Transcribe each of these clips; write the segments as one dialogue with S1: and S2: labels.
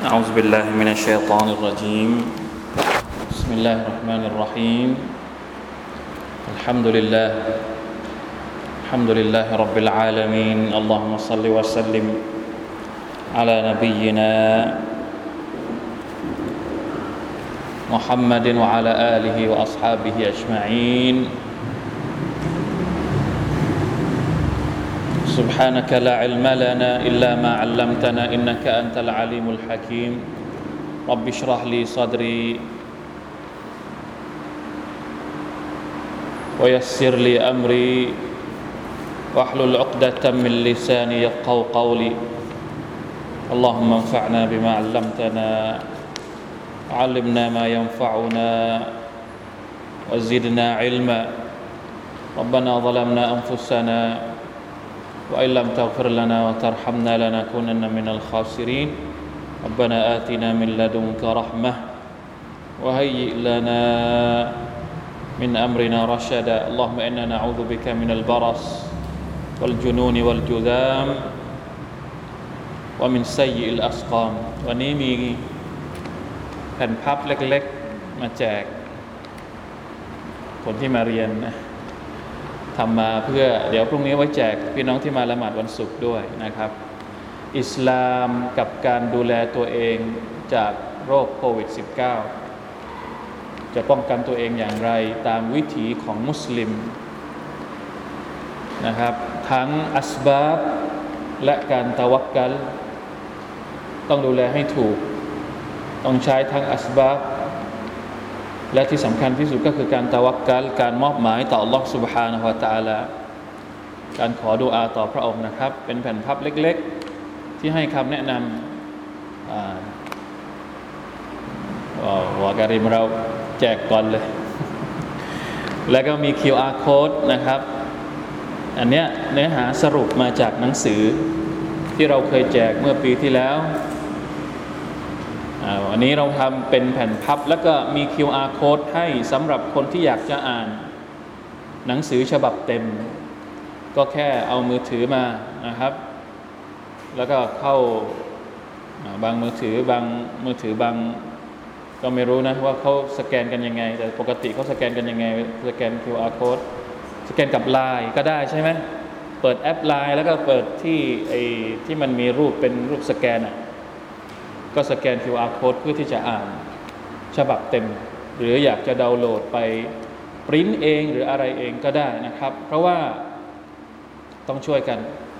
S1: أعوذ بالله من الشيطان الرجيم بسم الله الرحمن الرحيم الحمد لله رب العالمين اللهم صل وسلم على نبينا محمد وعلى آله وأصحابه أجمعين سبحانك لا علم لنا إلا ما علمتنا إنك أنت العليم الحكيم رب اشرح لي صدري ويسر لي أمري واحلل عقدة من لساني يفقهوا قولي اللهم انفعنا بما علمتنا علمنا ما ينفعنا وزدنا علما ربنا ظلمنا أنفسنا وإن لم تغفر لنا وترحمنا لنكونن من الخاسرين ربنا آتنا من لدنك رحمة وهيئ لنا من أمرنا رشدا اللهم إنا نعوذ بك من البرص والجنون والجذام ومن سيء الأسقام วันนี้มีแผ่นพับเล็กๆมาแจกคนที่มาเรียนนะทำมาเพื่อเดี๋ยวพรุ่งนี้ไว้แจกพี่น้องที่มาละหมาดวันศุกร์ด้วยนะครับอิสลามกับการดูแลตัวเองจากโรคโควิด -19 จะป้องกันตัวเองอย่างไรตามวิถีของมุสลิมนะครับทั้งอัสบาบและการตะวักกัลต้องดูแลให้ถูกต้องใช้ทั้งอัสบาบและที่สำคัญที่สุดก็คือการตะวักกัลการมอบหมายต่อ Allah Subhanahu Wa Taala การขอดุอาต่อพระองค์นะครับเป็นแผ่นพับเล็กๆที่ให้คำแนะนำวาการิมเราแจกก่อนเลยแล้วก็มี QR Code นะครับอันเนี้ยเนื้อหาสรุปมาจากหนังสือที่เราเคยแจกเมื่อปีที่แล้ววันนี้เราทำเป็นแผ่นพับแล้วก็มี QR Code ให้สำหรับคนที่อยากจะอ่านหนังสือฉบับเต็มก็แค่เอามือถือมานะครับแล้วก็เข้าบางมือถือบางก็ไม่รู้นะว่าเขาสแกนกันยังไงแต่ปกติเขาสแกนกันยังไงสแกน QR Code สแกนกับ LINE ก็ได้ใช่ไหมเปิดแอป LINE แล้วก็เปิดที่มันมีรูปเป็นรูปสแกนก็สแกน QR Code เพื่อที่จะอ่านฉบับเต็มหรืออยากจะดาวน์โหลดไปปริ้นเองหรืออะไรเองก็ได้นะครับเพราะว่าต้องช่วยกัน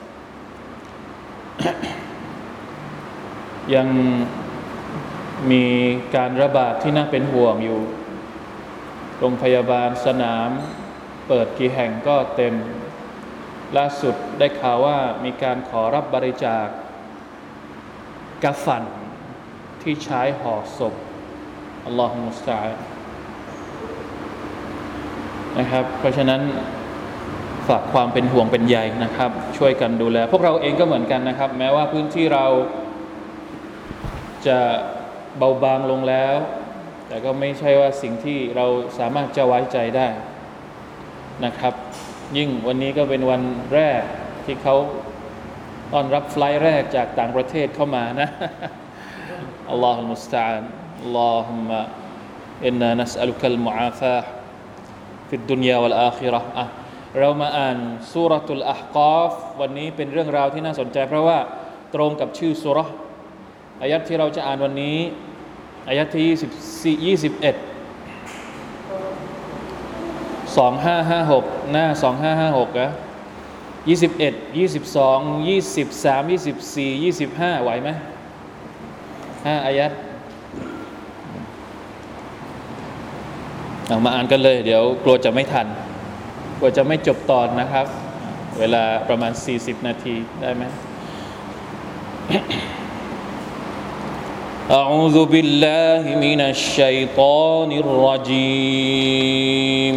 S1: ยังมีการระบาดที่น่าเป็นห่วงอยู่โรงพยาบาลสนามเปิดกี่แห่งก็เต็มล่าสุดได้ข่าวว่ามีการขอรับบริจาคกะฟันที่ใช้ห่อศพอัลลอฮฺมุสตะอาน์นะครับเพราะฉะนั้นฝากความเป็นห่วงเป็นใยนะครับช่วยกันดูแลพวกเราเองก็เหมือนกันนะครับแม้ว่าพื้นที่เราจะเบาบางลงแล้วแต่ก็ไม่ใช่ว่าสิ่งที่เราสามารถจะไว้ใจได้นะครับยิ่งวันนี้ก็เป็นวันแรกที่เขาต้อนรับไฟล์แรกจากต่างประเทศเข้ามานะอัลลอฮฺมุสตะอาน์อัลลอฮุมะอินนานัสอัลุคัลมุอาฟาฮ์ฟิดดุนยาวัลอาคิเราะห์เรามาอ่านซูเราะตุลอะห์กอฟวันนี้เป็นเรื่องราวที่น่าสนใจเพราะว่าตรงกับชื่อซูเราะห์อายะห์ที่เราจะอ่านวันนี้อายะห์ที่21 2556หน้า2556นะ21 22 23 24 25ไหวไหม5อายะห์มาอ่านกันเลยเดี๋ยวกลัวจะไม่ทันกลัวจะไม่จบตอนนะครับเวลาประมาณ40นาทีได้ไหม أعوذ بالله من الشيطان الرجيم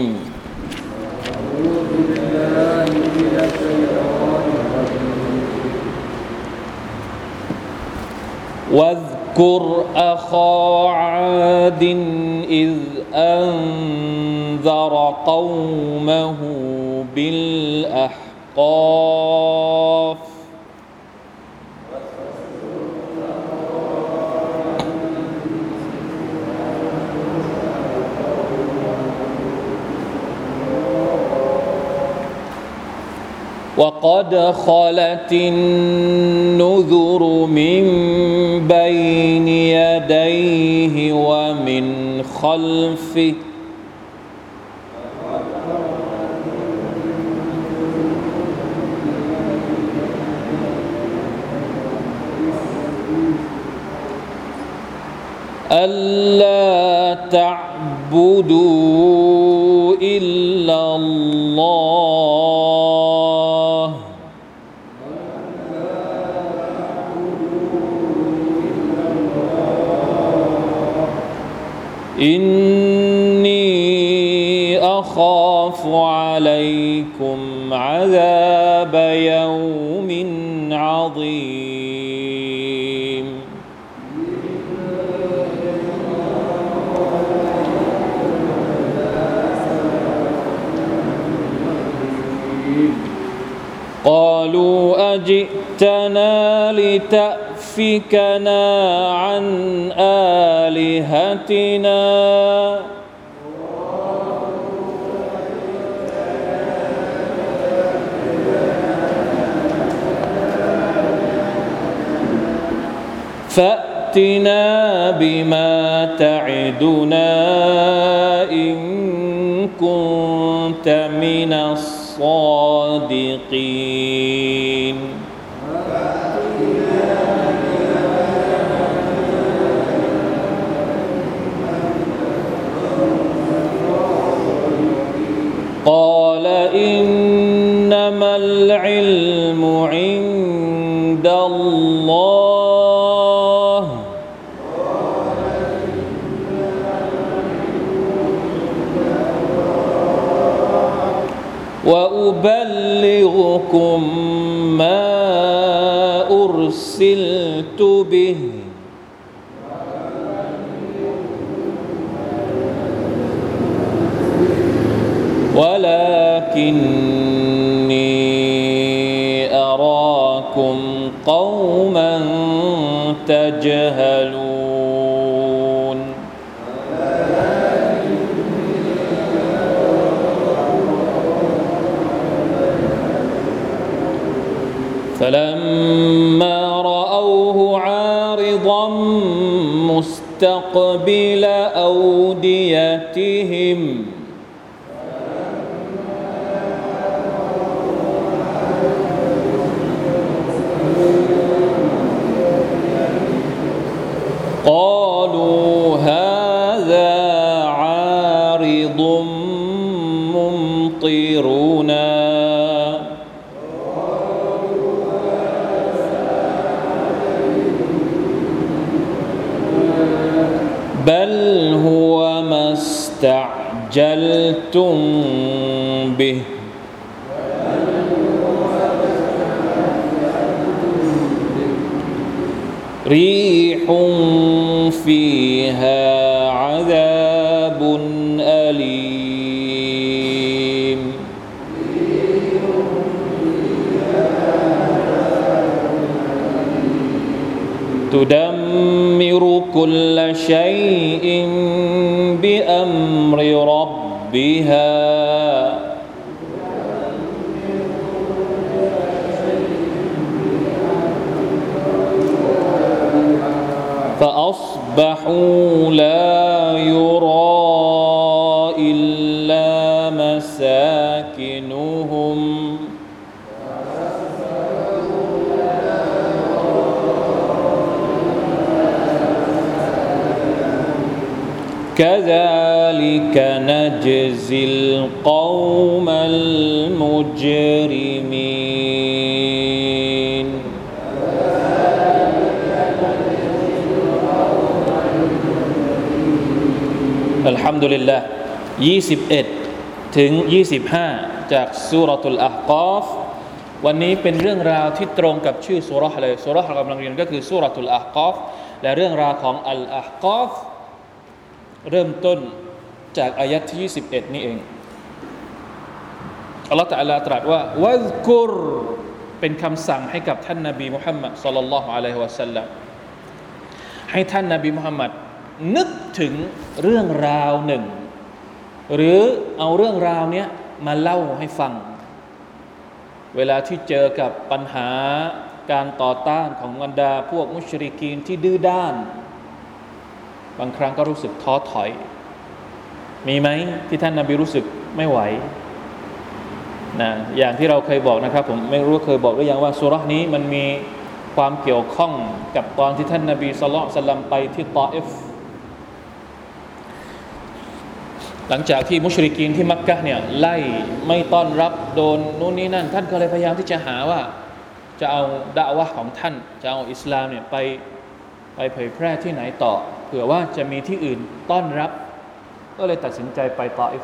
S1: واذكر أخا عاد إذ أنذر قومه بالأحقاف وقد خلت النذر من بين يديه ومن خلفه ألا تعبدوا إلا الله إني أخاف عليكم عذاب يوم عظيم قالوا أجئتنا لتأفكنا عن آلهتنا فأتنا بما تعدنا إن كنت من الصادقين قال إنما العلم عند الله وأبلغكم ما أرسلت به ولكني أراكم قوما تجهلون فلما رأوه عارضا مستقبل أوديتهم قالوا هذا عارض ممطرنا بل هو ما استعجلتم به ريح فيها عذاب أليم تدمر كل شيء بأمر ربها فأصبحوا لا يرى إلا مساكنهم كذلك نجزي القوم المجرمين Alhamdulillah 21ถึง25จากซูเราะตุลอะห์กอฟวันนี้เป็นเรื่องราวที่ตรงกับชื่อซูเราะห์เลยซูเราะห์เรากำลังเรียนก็คือซูเราะตุลอะห์กอฟและเรื่องราวของอัลอะห์กอฟเริ่มต้นจากอายะห์ที่21นี่เองอัลเลาะห์ตะอาลาตรัสว่าวัซกุรเป็นคำสั่งให้กับท่านนบีมุฮัมมัดศ็อลลัลลอฮุอะลัยฮิวะซัลลัมให้ท่านนบีมุฮัมมัดนึกถึงเรื่องราวหนึ่งหรือเอาเรื่องราวเนี้ยมาเล่าให้ฟังเวลาที่เจอกับปัญหาการต่อต้านของบรรดาพวกมุชริกีนที่ดื้อด้านบางครั้งก็รู้สึกท้อถอยมีไหมที่ท่านนบีรู้สึกไม่ไหวนะอย่างที่เราเคยบอกนะครับผมไม่รู้เคยบอกหรือยังว่าซูเราะห์นี้มันมีความเกี่ยวข้องกับตอนที่ท่านนบีศ็อลลัลลอฮุอะลัยฮิวะซัลลัมไปที่ฏออิฟหลังจากที่มุชริกีนที่มักกะฮ์เนี่ยไล่ไม่ต้อนรับโดนนู่นนี่นั่นท่านก็เลยพยายามที่จะหาว่าจะเอาดะอ์วะห์ของท่านจะเอาอิสลามเนี่ยไปเผยแพร่ที่ไหนต่อเผื่อว่าจะมีที่อื่นต้อนรับก็เลยตัดสินใจไปฏออิฟ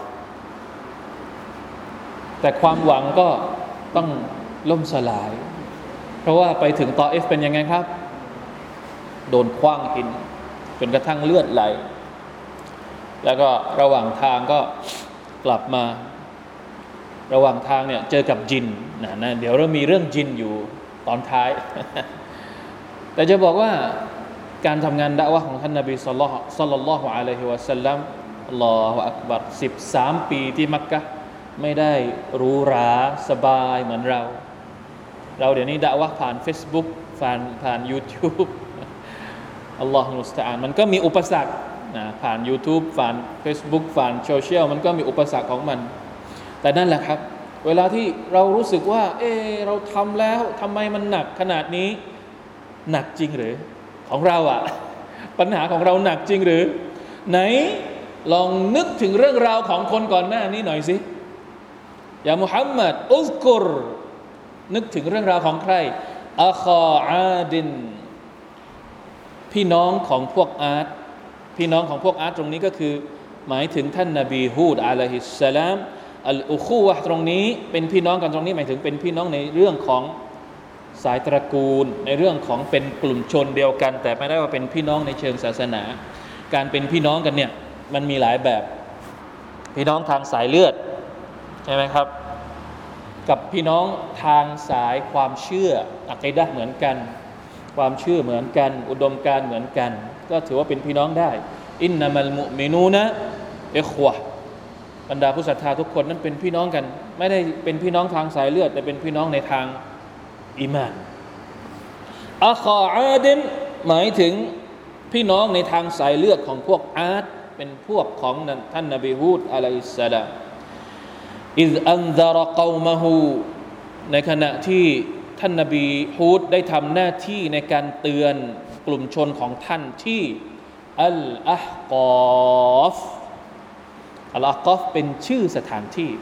S1: แต่ความหวังก็ต้องล่มสลายเพราะว่าไปถึงฏออิฟเป็นยังไงครับโดนขว้างหินจนกระทั่งเลือดไหลแล้วก็ระหว่างทางก็กลับมาระหว่างทางเนี่ยเจอกับจินนะเดี๋ยวเรามีเรื่องจินอยู่ตอนท้าย แต่จะบอกว่าการทำงานดะอ์วะห์ของท่านนบีศ็อลลัลลอฮุอะลัยฮิวะซัลลัมอัลลอฮุอักบัร13ปีที่มักกะฮ์ไม่ได้หรูหราสบายเหมือนเราเดี๋ยวนี้ดะอ์วะห์ผ่าน Facebook ผ่าน YouTube อัลลอฮุมุสตะอาน์มันก็มีอุปสรรคนะผ่าน YouTube ผ่าน Facebook ผ่านโซเชียลมันก็มีอุปสรรคของมันแต่นั่นแหละครับเวลาที่เรารู้สึกว่าเราทำแล้วทำไมมันหนักขนาดนี้หนักจริงหรือของเราปัญหาของเราหนักจริงหรือไหนลองนึกถึงเรื่องราวของคนก่อนหน้านี้หน่อยสิยามุฮัมมัดอุซกุรนึกถึงเรื่องราวของใครอาคออาดินพี่น้องของพวกอาร์ตพี่น้องของพวกอาร์ตตรงนี้ก็คือหมายถึงท่านนบีฮูดอะลัยฮิสสลามอัลอุคูวะห์ตรงนี้เป็นพี่น้องกันตรงนี้หมายถึงเป็นพี่น้องในเรื่องของสายตระกูลในเรื่องของเป็นกลุ่มชนเดียวกันแต่ไม่ได้ว่าเป็นพี่น้องในเชิงศาสนาการเป็นพี่น้องกันเนี่ยมันมีหลายแบบพี่น้องทางสายเลือดใช่ไหมครับกับพี่น้องทางสายความเชื่ออะกีดะห์เหมือนกันความเชื่อเหมือนกันอุดมการณ์เหมือนกันก็ถือว่าเป็นพี่น้องได้อินนัมัลมุมินูนะอิควะห์บรรดาผู้ศรัทธาทุกคนนั้นเป็นพี่น้องกันไม่ได้เป็นพี่น้องทางสายเลือดแต่เป็นพี่น้องในทางอีมานอาคออาดินหมายถึงพี่น้องในทางสายเลือดของพวกอาดเป็นพวกของท่านนบีฮูดอะลัยฮิสสลามอิซอันซะรกอมะฮูในขณะที่ท่านนบีฮูดได้ทำหน้าที่ในการเตือนกลุ่มชนของท่านที่อัลอะห์กอฟเป็นชื่อสถานที่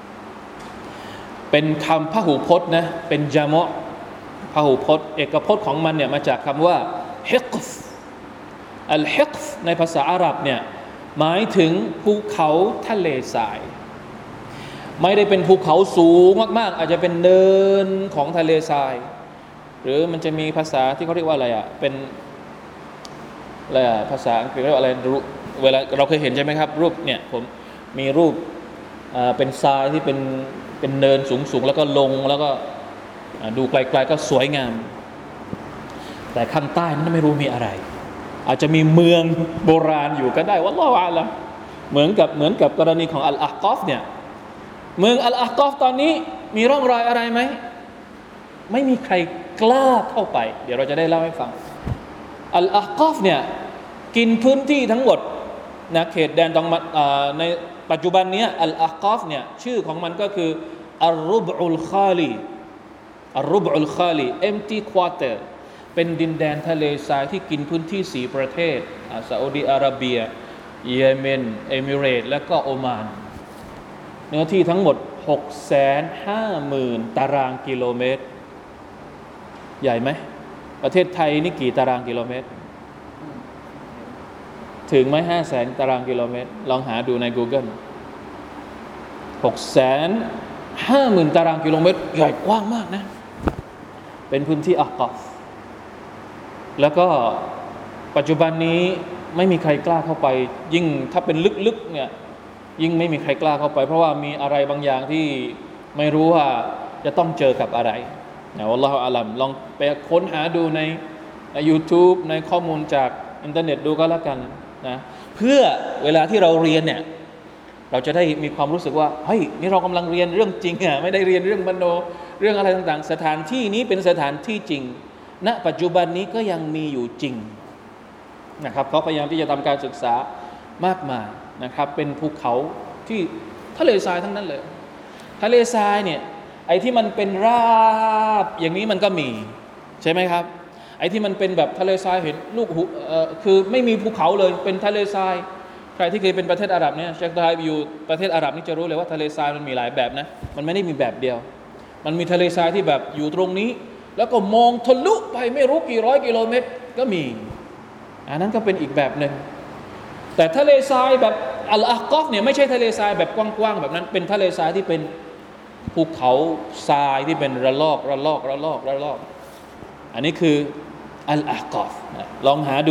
S1: เป็นคำพหูพจน์นะเป็นญะมะพหูพจน์เอกพจน์ของมันเนี่ยมาจากคำว่าฮิกฟอัลฮิกฟในภาษาอาหรับเนี่ยหมายถึงภูเขาทะเลทรายไม่ได้เป็นภูเขาสูงมากๆอาจจะเป็นเนินของทะเลทรายหรือมันจะมีภาษาที่เขาเรียกว่าอะไรเป็นอะไรภาษาอังกฤษเรียกว่าอะไรเวลาเราเคยเห็นใช่ไหมครับรูปเนี่ยผมมีรูปเป็นทรายที่เป็นเนินสูงๆแล้วก็ลงแล้วก็ดูไกลๆก็สวยงามแต่ข้างใต้นั้นไม่รู้มีอะไรอาจจะมีเมืองโบราณอยู่ก็ได้วัลลอฮุอาลัมเหมือนกับกรณีของอัลอะห์กอฟเนี่ยเมืองอัลอะห์กอฟตอนนี้มีร่องรอยอะไรไหมไม่มีใครกล้าเข้าไปเดี๋ยวเราจะได้เล่าให้ฟังอัลอะห์กอฟเนี่ยกินพื้นที่ทั้งหมดนะเขตแดนตรงในปัจจุบันนี้อัลอะห์กอฟเนี่ยชื่อของมันก็คืออัลรุบอุลคาลีempty quarter เป็นดินแดนทะเลทรายที่กินพื้นที่4ประเทศซาอุดิอาระเบียเยเมนเอมิเรตส์และก็โอมานเนื้อที่ทั้งหมด 650,000 ตารางกิโลเมตรใหญ่ไหมประเทศไทยนี่กี่ตารางกิโลเมตรถึงไหม 500,000 ตารางกิโลเมตรลองหาดูใน Google 650,000 ตารางกิโลเมตรใหญ่กว้างมากนะเป็นพื้นที่อะกอฟแล้วก็ปัจจุบันนี้ไม่มีใครกล้าเข้าไปยิ่งถ้าเป็นลึกๆเนี่ยยิ่งไม่มีใครกล้าเข้าไปเพราะว่ามีอะไรบางอย่างที่ไม่รู้ว่าจะต้องเจอกับอะไรนะวัลลอฮุอาลัมลองไปค้นหาดูใน YouTube ในข้อมูลจากอินเทอร์เน็ตดูก็แล้วกันนะเพื่อเวลาที่เราเรียนเนี่ยเราจะได้มีความรู้สึกว่าเฮ้ยนี่เรากำลังเรียนเรื่องจริงไม่ได้เรียนเรื่องมโนเรื่องอะไรต่างๆสถานที่นี้เป็นสถานที่จริงณปัจจุบันนี้ก็ยังมีอยู่จริงนะครับเขาพยายามที่จะทำการศึกษามากมายนะครับเป็นภูเขาที่ทะเลทรายทั้งนั้นเลยทะเลทรายเนี่ยไอ้ที่มันเป็นราบอย่างนี้มันก็มีใช่ไหมครับไอ้ที่มันเป็นแบบทะเลทรายเห็นลูกคือไม่มีภูเขาเลยเป็นทะเลทรายใครที่เคยเป็นประเทศอาหรับเนี่ยเชคไทยอยู่ประเทศอาหรับนี่จะรู้เลยว่าทะเลทรายมันมีหลายแบบนะมันไม่ได้มีแบบเดียวมันมีทะเลทรายที่แบบอยู่ตรงนี้แล้วก็มองทะลุไปไม่รู้กี่ร้อยกิโลเมตรก็มีอันนั้นก็เป็นอีกแบบหนึ่งแต่ทะเลทรายแบบอัลอาห์กอฟเนี่ยไม่ใช่ทะเลทรายแบบกว้างๆแบบนั้นเป็นทะเลทรายที่เป็นภูเขาทรายที่เป็นระลอกอันนี้คืออัลอาห์กอฟลองหาดู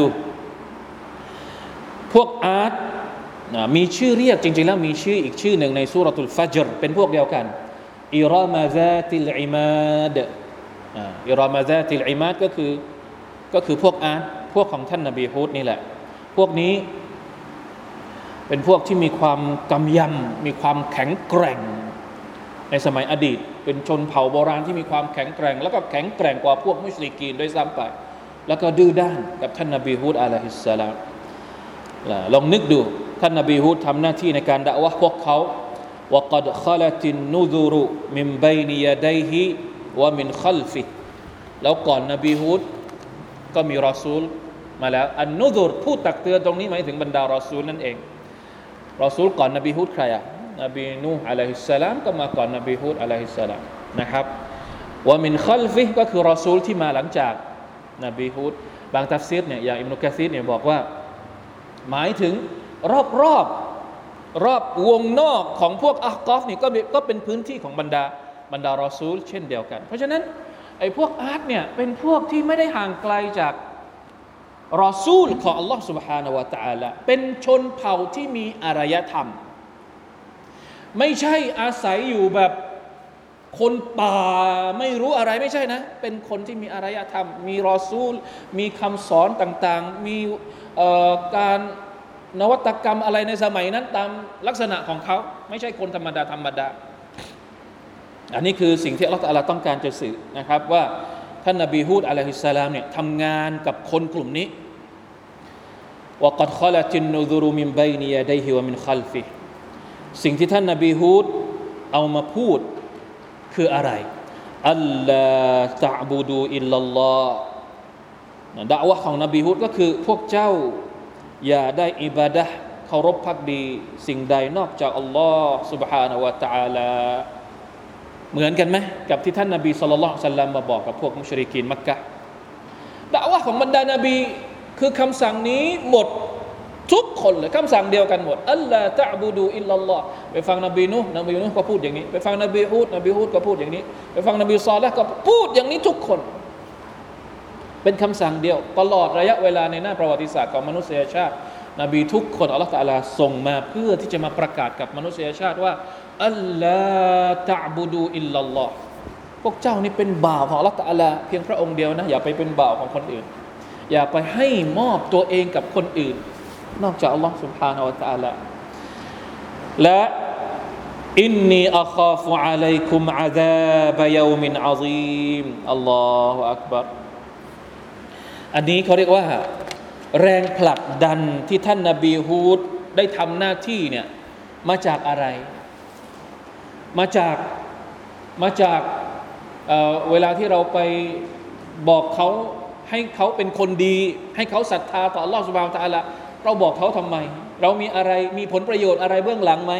S1: พวกอาร์ตมีชื่อเรียกจริงๆแล้วมีชื่ออีกชื่อหนึ่งในซูเราะตุลฟัจรเป็นพวกเดียวกันอิรามะซาติลอิมาดอิรามะซาติลอิมาดก็คือพวกอาร์ตพวกของท่านนบีฮูดนี่แหละพวกนี้เป็นพวกที่มีความกำยำมีความแข็งแกร่งในสมัยอดีตเป็นชนเผ่าโบราณที่มีความแข็งแกร่งแล้วก็แข็งแกร่งกว่าพวกมุชริกีนด้วยซ้ำไปแล้วก็ดื้อด้านกับท่านนบีฮูดอะลัยฮิสสลามลองนึกดูท่านนบีฮูดทำหน้าที่ในการดะอ์วะห์พวกเขาวะกัดคอลัตินนุซุรุมินบัยนิยะดัยฮิวะมินคัลฟิแล้วก่อนนบีฮูดก็มีรอซูลมาแล้วอันนุซุรผู้ตักเตือนตรงนี้หมายถึงบรรดารอซูลนั่นเองรอซูลก่อนนบีฮูดใครอ่ะนบีนูห์อะลัยฮิสสลามก็มาก่อนนบีฮูดอะลัยฮิสสลามนะครับวะมินคัลฟิก็คือรอซูลที่มาหลังจากนบีฮูดบางตัฟซีรเนี่ยอย่างอิบนุกะซีรเนี่ยบอกว่าหมายถึงรอบวงนอกของพวกอะห์กอฟนี่ก็เป็นพื้นที่ของบรรดารอซูลเช่นเดียวกันเพราะฉะนั้นไอ้พวกอาร์ตเนี่ยเป็นพวกที่ไม่ได้ห่างไกลจากรอซูลของอัลลอฮ์ سبحانه และ تعالى เป็นชนเผ่าที่มีอารยธรรมไม่ใช่อาศัยอยู่แบบคนป่าไม่รู้อะไรไม่ใช่นะเป็นคนที่มีอารยธรรมมีรอซูลมีคำสอนต่างๆมีการนวัตกรรมอะไรในสมัยนั้นตามลักษณะของเขาไม่ใช่คนธรรมดาอันนี้คือสิ่งที่อัลเลาะห์ตะอาลาต้องการจะสื่อนะครับว่าท่านนบีฮูดอะลัยฮิสสลามเนี่ยทำงานกับคนกลุ่มนี้วะกัดคอลัตินนุซุรุมินบัยนิยะดัยฮิวะมินคัลฟิสิ่งที่ท่านนบีฮูดเอามาพูดคืออะไรอัลลาตะอ์บุดูอิลลัลลอฮ์ดะอ์วะห์ของนบีฮูดก็คือพวกเจ้าอย่าได้อิบาดะห์เคารพภักดีสิ่งใดนอกจากอัลลอฮ์ سبحانه และ تعالى เหมือนกันไหมกับที่ท่านนบีศ็อลลัลลอฮุอะลัยฮิวะซัลลัมมาบอกกับพวกมุชริกีนมักกะฮ์ดะอ์วะห์ของบรรดานบีคือคำสั่งนี้หมดทุกคนเลยคำสั่งเดียวกันหมดอัลลาตะอ์บุดูอิลลัลลอฮ์ไปฟังนบีนูห์ก็พูดอย่างนี้ไปฟังนบีฮูดก็พูดอย่างนี้ไปฟังนบีศอลิห์ก็พูดอย่างนี้ทุกคนเป็นคำสั่งเดียวตลอดระยะเวลาในหน้าประวัติศาสตร์ของมนุษยชาตินบีทุกคนอัลเลาะห์ตะอาลาส่งมาเพื่อที่จะมาประกาศกับมนุษยชาติว่าอัลลาตะอ์บุดูอิลลัลลอฮ์พวกเจ้านี่เป็นบ่าวของอัลเลาะห์ตะอาลาเพียงพระองค์เดียวนะอย่าไปเป็นบ่าวของคนอื่นอย่าไปให้มอบตัวเองกับคนอื่นนอกจากอัลลอฮ์ سبحانه และ تعالى และอินนีอัคาฟุอะลัยกุมอะซาบะยอมินอะซีมอัลลอฮุอักบัรอันนี้เขาเรียกว่าแรงผลักดันที่ท่านนบีฮูดได้ทำหน้าที่เนี่ยมาจากอะไรมาจากเวลาที่เราไปบอกเขาให้เขาเป็นคนดีให้เขาศรัทธาต่ออัลลอฮฺซุบฮานะฮูวะตะอาลาเราบอกเขาทำไมเรามีอะไรมีผลประโยชน์อะไรเบื้องหลังไหม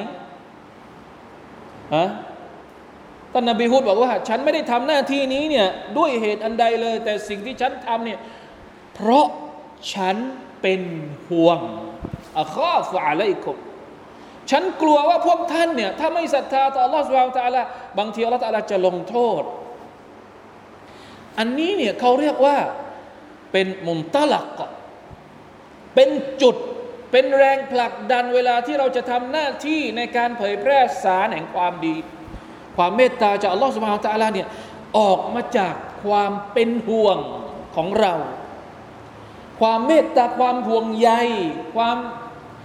S1: ท่านนบีฮูดบอกว่าฉันไม่ได้ทำหน้าที่นี้เนี่ยด้วยเหตุอันใดเลยแต่สิ่งที่ฉันทำเนี่ยเพราะฉันเป็นห่วงอะคอฟุอะลัยกุมฉันกลัวว่าพวกท่านเนี่ยถ้าไม่ศรัทธาต่ออัลลอฮฺซุบฮานะฮูวะตะอาลาบางทีอัลลอฮฺตะอาลาจะลงโทษอันนี้เนี่ยเขาเรียกว่าเป็นมุนตะลักเป็นจุดเป็นแรงผลักดันเวลาที่เราจะทำหน้าที่ในการเผยแพร่สารแห่งความดีความเมตตาจากอัลลอฮฺซุบฮานะฮูวะตะอาลาเนี่ยออกมาจากความเป็นห่วงของเราความเมตตาความห่วงใย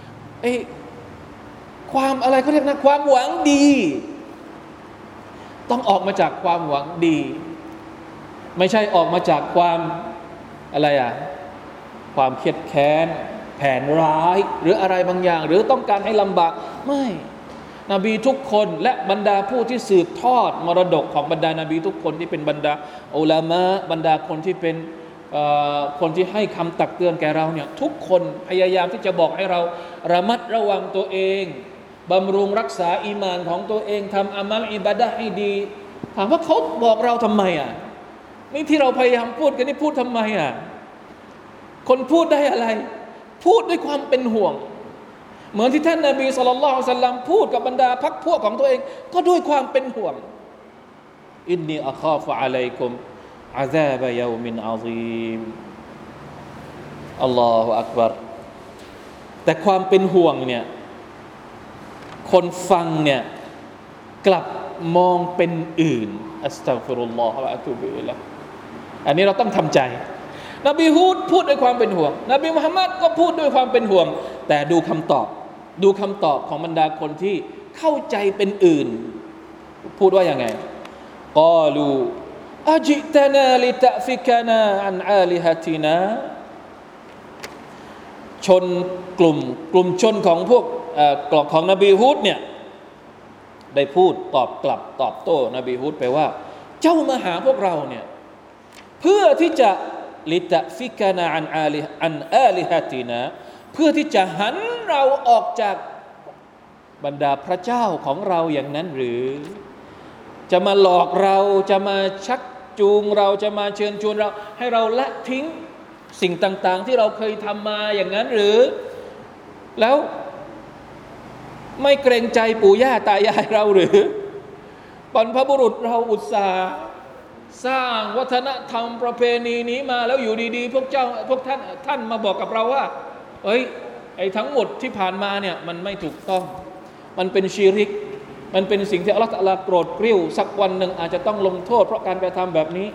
S1: ความอะไรเขาเรียกนะความหวังดีต้องออกมาจากความหวังดีไม่ใช่ออกมาจากความอะไรความเครียดแค้นแผนร้ายหรืออะไรบางอย่างหรือต้องการให้ลำบากไม่นบีทุกคนและบรรดาผู้ที่สืบทอดมรดกของบรรดานบีทุกคนที่เป็นบรรดาอุลามะบรรดาคนที่เป็นคนที่ให้คำตักเตือนแก่เราเนี่ยทุกคนพยายามที่จะบอกให้เราระมัดระวังตัวเองบำรุงรักษาอีมานของตัวเองทำอามัลอิบาดะห์ให้ดีถามว่าเขาบอกเราทำไมนี่ที่เราพยายามพูดกันนี่พูดทำไมคนพูดได้อะไรพูดด้วยความเป็นห่วงเหมือนที่ท่านนบีศ็อลลัลลอฮุอะลัยฮิวะซัลลัมพูดกับบรรดาพรรคพวกของตัวเองก็ด้วยความเป็นห่วงอินนีอะคาฟุอะลัยกุมอาซาบะยอมินอะซีมอัลลอฮุอักบัรแต่ความเป็นห่วงเนี่ยคนฟังเนี่ยกลับมองเป็นอื่นอัสตัฆฟิรุลลอฮวะอะตูบิอิลัยฮิอันนี้เราต้องทำใจนบีฮูดพูดด้วยความเป็นห่วงนบีมุฮัมมัดก็พูดด้วยความเป็นห่วงแต่ดูคำตอบของบรรดาคนที่เข้าใจเป็นอื่นพูดว่ายังไงกาลูอะจิตนาลิตะฟิกนาอันอาลิฮะตินาชนกลุ่มชนของพวกของนบีฮูดเนี่ยได้พูดตอบกลับตอบโต้นบีฮูดไปว่าเจ้ามาหาพวกเราเนี่ยเพื่อที่จะลิตะฟิกนาอันอาลิฮะตินาเพื่อที่จะหันเราออกจากบรรดาพระเจ้าของเราอย่างนั้นหรือจะมาหลอกเราจะมาชักจูงเราจะมาเชิญชวนเราให้เราละทิ้งสิ่งต่างๆที่เราเคยทำมาอย่างนั้นหรือแล้วไม่เกรงใจปู่ย่าตายายเราหรือบรรพบุรุษเราอุตส่าห์สร้างวัฒนธรรมประเพณีนี้มาแล้วอยู่ดีๆพวกท่านมาบอกกับเราว่าไอ้ทั้งหมดที่ผ่านมาเนี่ยมันไม่ถูกต้องมันเป็นชิริกมันเป็นสิ่งที่อัลเลาะห์ตะอาลาโกรธกริ้วสักวันหนึ่งอาจจะต้องลงโทษเพราะการกระทำแบบนี้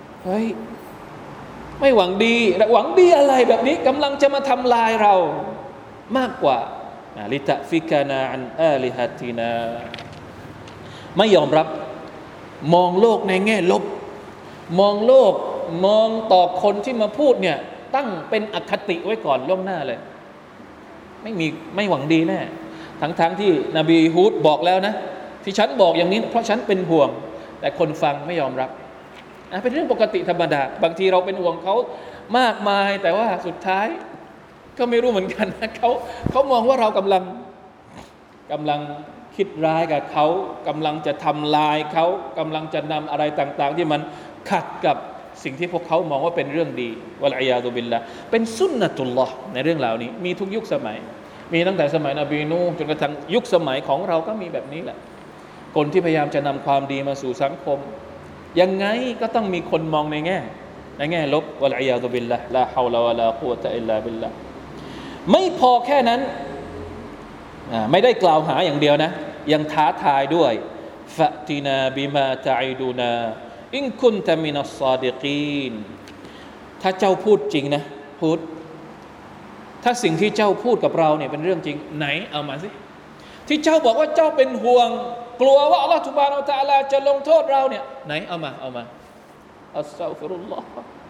S1: ไม่หวังดีหวังดีอะไรแบบนี้กำลังจะมาทำลายเรามากกว่าลิตะฟิกนาอันอาลิฮะตินาไม่ยอมรับมองโลกในแง่ลบมองโลกมองต่อคนที่มาพูดเนี่ยตั้งเป็นอคติไว้ก่อนล่วงหน้าเลยไม่หวังดีแน่ทั้งที่นบีฮูดบอกแล้วนะที่ฉันบอกอย่างนี้เพราะฉันเป็นห่วงแต่คนฟังไม่ยอมรับเป็นเรื่องปกติธรรมดาบางทีเราเป็นห่วงเขามากมายแต่ว่าสุดท้ายก็ไม่รู้เหมือนกันนะเขามองว่าเรากำลังคิดร้ายกับเขากำลังจะทำลายเขากำลังจะนำอะไรต่างๆที่มันขัดกับสิ่งที่พวกเขามองว่าเป็นเรื่องดีวะลัยยาซุบิลละเป็นสุนนะตุลลอฮ์ในเรื่องเหล่านี้มีทุกยุคสมัยมีตั้งแต่สมัยนบีนูห์จนกระทั่งยุคสมัยของเราก็มีแบบนี้แหละคนที่พยายามจะนำความดีมาสู่สังคมยังไงก็ต้องมีคนมองในแง่ลบวะลัยยาซุบิลละลาฮาวลาวะลากุวะตะอิลลาบิลละไม่พอแค่นั้นไม่ได้กล่าวหาอย่างเดียวนะยังท้าทายด้วยฟะตินาบิมาตะอิดูนาอินคุนตะมินัสซอดิกีนถ้าเจ้าพูดจริงนะพูดถ้าสิ่งที่เจ้าพูดกับเราเนี่ยเป็นเรื่องจริงไหนเอามาสิที่เจ้าบอกว่าเจ้าเป็นห่วงกลัวว่าอัลลอฮฺซุบฮานะฮูวะตะอาลาจะลงโทษเราเนี่ยไหนเอามาอัสตัฆฟิรุลลอฮ์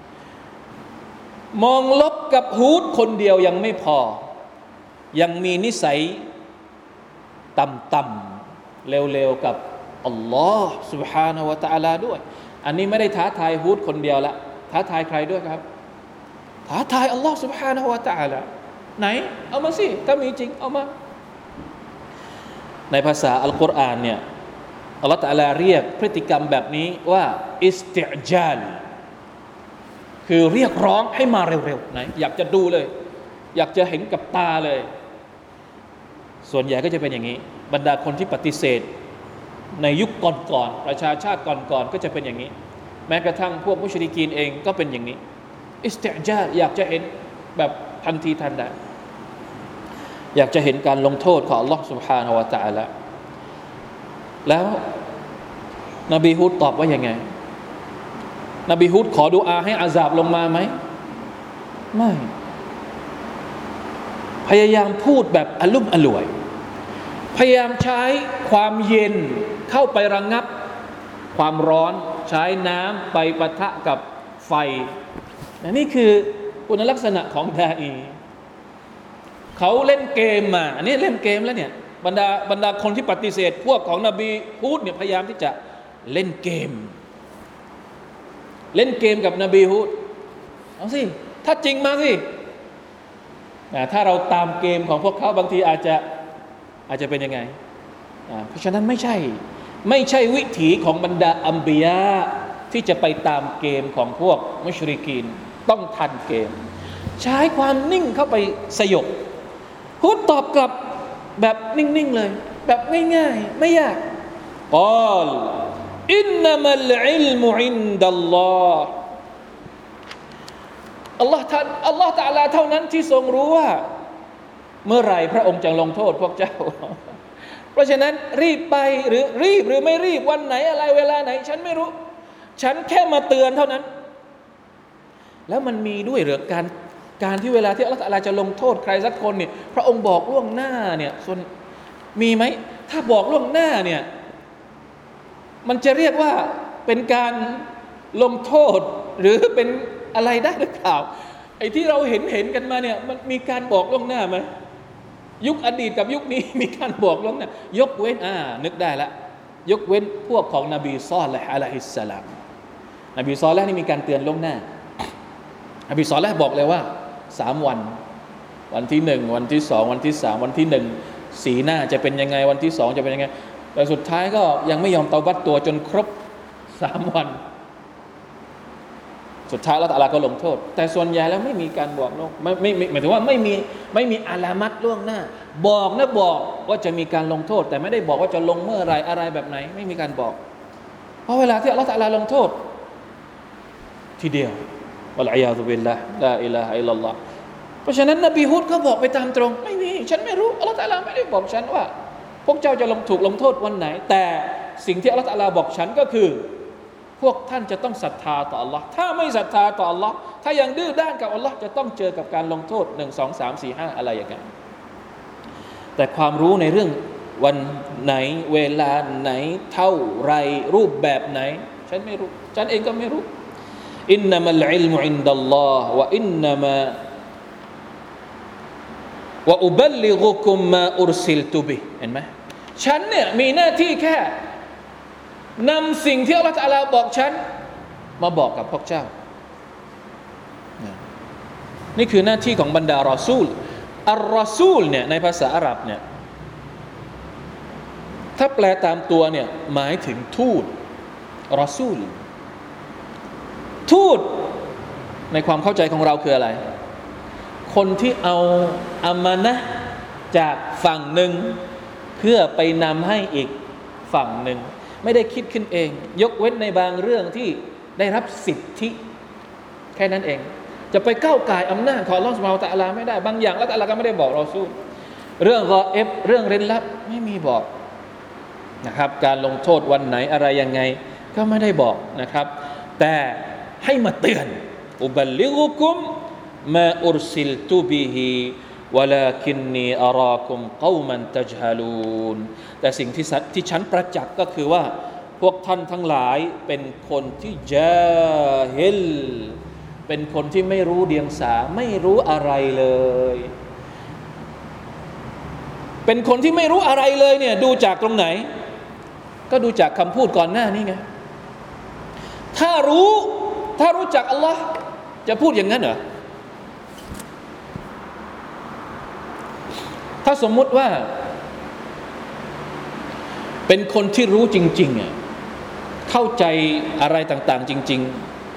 S1: มองลบกับฮูดคนเดียวยังไม่พอยังมีนิสัยต่ำๆเร็วๆกับอัลลอฮ์ سبحانه และ تعالى ด้วยอันนี้ไม่ได้ท้าทายฮูดคนเดียวละท้าทายใครด้วยครับท้าทายอัลลอฮ์ سبحانه และ تعالى ไหนเอามาสิถ้ามีจริงเอามาในภาษาอัลกุรอานเนี่ยอัลลอฮ์ تعالى เรียกพฤติกรรมแบบนี้ว่าอิสติอญาลคือเรียกร้องให้มาเร็วๆไหนอยากจะดูเลยอยากจะเห็นกับตาเลยส่วนใหญ่ก็จะเป็นอย่างนี้บรรดาคนที่ปฏิเสธในยุคก่อนๆประชาชาติก่อนๆก็จะเป็นอย่างนี้แม้กระทั่งพวกมุชริกีนเองก็เป็นอย่างนี้อิสติอญาลอยากจะเห็นแบบทันทีทันใดอยากจะเห็นการลงโทษของอัลลอฮฺ سبحانه และ تعالى แล้วนบีฮูดตอบว่ายังไงนบีฮูดขอดุอาให้อาซาบลงมาไหมไม่พยายามพูดแบบอลุ่มอล่วยพยายามใช้ความเย็นเข้าไประงับความร้อนใช้น้ำไปปะทะกับไฟนี่คือคุณลักษณะของดาอีเขาเล่นเกมมาอันนี้เล่นเกมแล้วเนี่ยบรรดาคนที่ปฏิเสธพวกของนบีฮูดเนี่ยพยายามที่จะเล่นเกมกับนบีฮูดเอาสิถ้าจริงมาสิถ้าเราตามเกมของพวกเขาบางทีอาจจะเป็นยังไงเพราะฉะนั้นไม่ใช่วิถีของบรรดาอัมบิยะที่จะไปตามเกมของพวกมุชริกีนต้องทันเกมใช้ความนิ่งเข้าไปสยบฮูดตอบกลับแบบนิ่งๆเลยแบบง่ายๆไม่ยากกอลอินนัมัลอิลมุอินดัลลอฮ์อัลลอฮ์ตะอาลาเท่านั้นที่ทรงรู้ว่าเมื่อไหร่พระองค์จะลงโทษพวกเจ้าเพราะฉะนั้นรีบไปหรือไม่รีบวันไหนอะไรเวลาไหนฉันไม่รู้ฉันแค่มาเตือนเท่านั้นแล้วมันมีด้วยหรือการที่เวลาที่อัลลอฮฺตะอาลาจะลงโทษใครสักคนเนี่ยพระองค์บอกล่วงหน้าเนี่ยส่วนมีไหมถ้าบอกล่วงหน้าเนี่ยมันจะเรียกว่าเป็นการลงโทษหรือเป็นอะไรได้หรือเปล่าไอ้ที่เราเห็นกันมาเนี่ยมันมีการบอกล่วงหน้าไหมยุคอดีตกับยุคนี้มีการบอกล่วงหน้ายกเว้นนึกได้ละยกเว้นพวกของนบีซอลิห์อะลัยฮิสสลามนบีซอลิห์นี่มีการเตือนล่วงหน้านบีซอลิห์บอกเลยว่า3 วันที่1วันที่2วันที่3วันที่1สีหน้าจะเป็นยังไงวันที่2จะเป็นยังไงแต่สุดท้ายก็ยังไม่ยอมเตาบัตตัวจนครบ3 วันสุดท้ายอัลเลาะห์ตะอาลาก็ลงโทษแต่ส่วนใหญ่แล้วไม่มีการบอกล่วงไม่หมายถึงว่าไม่มีอาลามัตล่วงหน้าบอกว่าจะมีการลงโทษแต่ไม่ได้บอกว่าจะลงเมื่อไรอะไรแบบไหนไม่มีการบอกเพราะเวลาที่อัลเลาะห์ตะอาลาลงโทษทีเดียววัลอียาซุบิลลาฮ์ลาอิลาฮะอิลลัลลอฮ์เพราะฉะนั้นนบีฮูดก็บอกไปตามตรงไม่มีฉันไม่รู้อัลเลาะห์ตะอาลาไม่ได้บอกฉันว่าพวกเจ้าจะถูกลงโทษวันไหนแต่สิ่งที่อัลเลาะห์ตะอาลาบอกฉันก็คือพวกท่านจะต้องศรัทธาต่อ Allah ถ้าไม่ศรัทธาต่อ Allah ถ้ายังดื้อด้านกับ Allah จะต้องเจอกับการลงโทษ1 2 3 4 5อะไรอย่างเงี้ยแต่ความรู้ในเรื่องวันไหนเวลาไหนเท่าไรรูปแบบไหนฉันไม่รู้ฉันเองก็ไม่รู้อินนัมัลอิลมุอินดัลลอฮ์วะอินนัมาวะอุบัลลิกุกุมมาอุรซิลตุบิเห็นไหมฉันเนี่ยมีหน้าที่แค่นำสิ่งที่อัลเลาะห์ตะอาลาบอกฉันมาบอกกับพวกเจ้านี่คือหน้าที่ของบรรดารอซูลอัลรอซูลเนี่ยในภาษาอาหรับเนี่ยถ้าแปลตามตัวเนี่ยหมายถึงทูตรอซูลทูตในความเข้าใจของเราคืออะไรคนที่เอาอามานะห์จากฝั่งหนึ่งเพื่อไปนำให้อีกฝั่งหนึ่งไม่ได้คิดขึ้นเองยกเว้นในบางเรื่องที่ได้รับสิทธิแค่นั้นเองจะไปก้าวก่ายอำนาจของอัลเลาะห์ซุบฮานะฮูวะตะอาลาไม่ได้บางอย่างอัลเลาะห์ตะอาลาก็ไม่ได้บอกรอซูลเรื่องกออิบเรื่องเร้นลับไม่มีบอกนะครับการลงโทษวันไหนอะไรยังไงก็ไม่ได้บอกนะครับแต่ให้มาเตือนอุบัลลิกุกุมมาอุรซิลตุบิฮิวะลาคินนีอารากุมกอมันตัจฮะลูนแต่สิ่งที่ฉันประจักษ์ก็คือว่าพวกท่านทั้งหลายเป็นคนที่ญาฮิลเป็นคนที่ไม่รู้เดียงสาไม่รู้อะไรเลยเป็นคนที่ไม่รู้อะไรเลยเนี่ยดูจากตรงไหนก็ดูจากคำพูดก่อนหน้านี้ไงถ้ารู้จักอัลลอฮ์จะพูดอย่างนั้นเหรอถ้าสมมุติว่าเป็นคนที่รู้จริงๆเข้าใจอะไรต่างๆจริง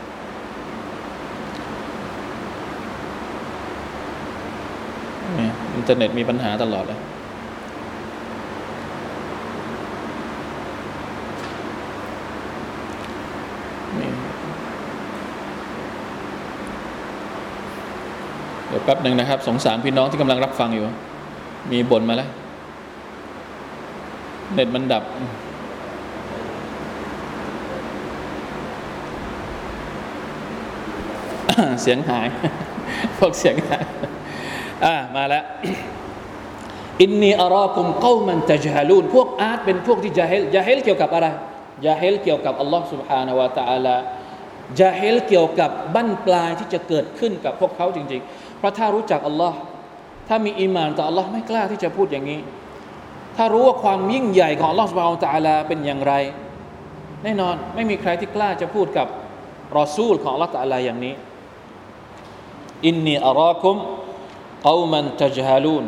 S1: ๆอินเทอร์เน็ตมีปัญหาตลอดเลยเดี๋ยวแป๊บหนึ่งนะครับสงสารพี่น้องที่กำลังรับฟังอยู่มีบ่นมาแล้วเน็ตมันดับเสียงหายพวกเสียงหายมาแล้วอินนีอารากุมกอมันตัจฮะลูนพวกอาร์ตเป็นพวกที่ญาฮิลเกี่ยวกับอะไรญาฮิลเกี่ยวกับอัลลอฮ์ سبحانه และ تعالى ญาฮิลเกี่ยวกับบั้นปลายที่จะเกิดขึ้นกับพวกเขาจริงๆเพราะถ้ารู้จักอัลลอฮ์ถ้ามีอีหม่านต่ออัลลอฮ์ไม่กล้าที่จะพูดอย่างนี้ถ้ารู้ว่าความยิ่งใหญ่ของอัลลอฮ์ سبحانه และ تعالى เป็นอย่างไรแน่นอนไม่มีใครที่กล้าจะพูดกับรอซูลของอัลลอฮ์ تعالى อย่างนี้อินนีอาราคุมกอมันตัจฮาลูน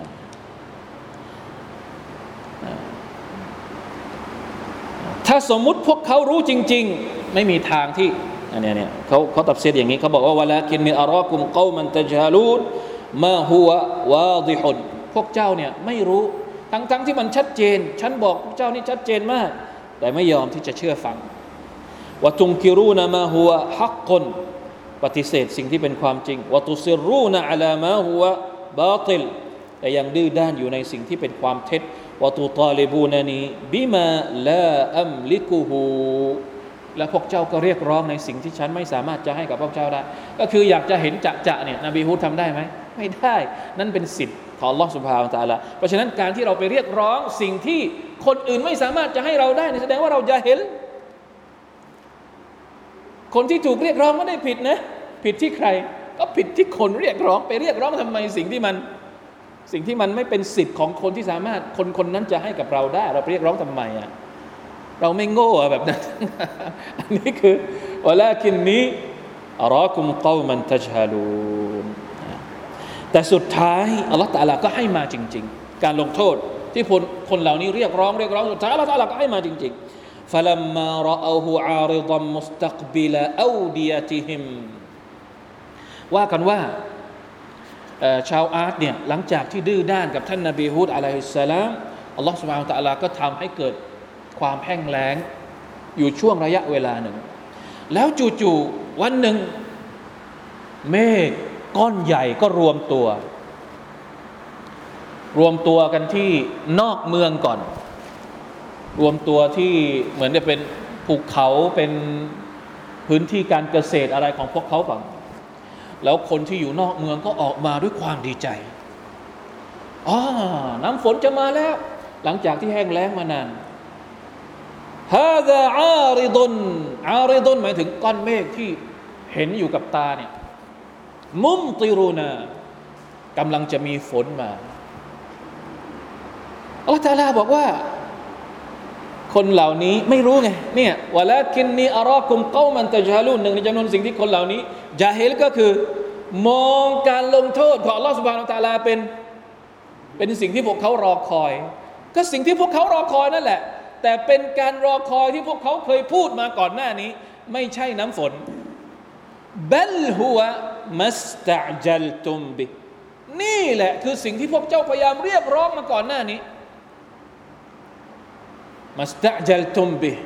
S1: ถ้าสมมุติพวกเขารู้จริงๆไม่มีทางที่เนี่ยเขาตัฟซีรอย่างนี้เขาบอกว่าวะลากินนีอารากุมกอมันตัจฮาลูนมาฮุวะวาฎิฮุนพวกเจ้าเนี่ยไม่รู้ทั้งที่มันชัดเจนฉันบอกพวกเจ้านี่ชัดเจนมากแต่ไม่ยอมที่จะเชื่อฟังวะตุงกิรูนะมาฮุวะฮักกุนปฏิเสธสิ่งที่เป็นความจริงวะตุซิรูนะอะลามาฮุวะบาติลแต่ยังดื้อด้านอยู่ในสิ่งที่เป็นความเท็จวะตุตาลิบูนานีบิมาลาอัมลิกุฮูและพวกเจ้าก็เรียกร้องในสิ่งที่ฉันไม่สามารถจะให้กับพวกเจ้าได้ก็คืออยากจะเห็นจะเนี่ยนบีฮูดทำได้ไหมไม่ได้นั่นเป็นสิทธิ์ของอัลลอฮฺซุบฮานะฮูวะตะอาลาเพราะฉะนั้นการที่เราไปเรียกร้องสิ่งที่คนอื่นไม่สามารถจะให้เราได้แสดงว่าเราญาฮิลคนที่ถูกเรียกร้องไม่ได้ผิดนะผิดที่ใครก็ผิดที่คนเรียกร้องไปเรียกร้องทำไมสิ่งที่มันไม่เป็นสิทธิ์ของคนที่สามารถคนนั้นจะให้กับเราได้เราไปเรียกร้องทำไมอ่ะเราไม่โง่แบบนั้น อันนี้คือวะลากินนี้อารากุมกอมันตัจฮาลูนแต่สุดท้ายอัลลอฮฺตะอาลาก็ให้มาจริงๆการลงโทษที่คนเหล่านี้เรียกร้องสุดท้ายอัลลอฮฺตะอาลาก็ให้มาจริงๆ فلما رأوه عارضا مستقبل أوديتهم ว่ากันว่าชาวอาร์ตเนี่ยหลังจากที่ดื้อด้านกับท่านนบีฮูดอะลัยฮิสสลามอัลลอฮฺซุบฮานะฮูวะตะอาลาก็ทำให้เกิดความแห้งแล้งอยู่ช่วงระยะเวลาหนึ่งแล้วจู่ๆวันหนึ่งเมฆก้อนใหญ่ก็รวมตัวกันที่นอกเมืองก่อนรวมตัวที่เหมือนจะเป็นภูเขาเป็นพื้นที่การเกษตรอะไรของพวกเขาก่อนแล้วคนที่อยู่นอกเมืองก็ออกมาด้วยความดีใจน้ำฝนจะมาแล้วหลังจากที่แห้งแล้งมานานฮาซาอาริดุนหมายถึงก้อนเมฆที่เห็นอยู่กับตาเนี่ยมุมติรูนากำลังจะมีฝนมาอัลลอฮฺตะอาลาบอกว่าคนเหล่านี้ไม่รู้ไงเนี่ยวะลากินนีอารากุมกอมันตัจฮาลูนหนึ่งในจำนวนสิ่งที่คนเหล่านี้ญาฮิลก็คือมองการลงโทษของอัลลอฮฺซุบฮานะฮูวะตะอาลาเป็นสิ่งที่พวกเขารอคอยก็สิ่งที่พวกเขารอคอยนั่นแหละแต่เป็นการรอคอยที่พวกเขาเคยพูดมาก่อนหน้านี้ไม่ใช่น้ำฝนบัลฮุวะมัสตะจัลตุมบินี่แหละคือสิ่งที่พวกเจ้าพยายามเรียกร้องมาก่อนหน้านี้มัสตะจัลตุมบิ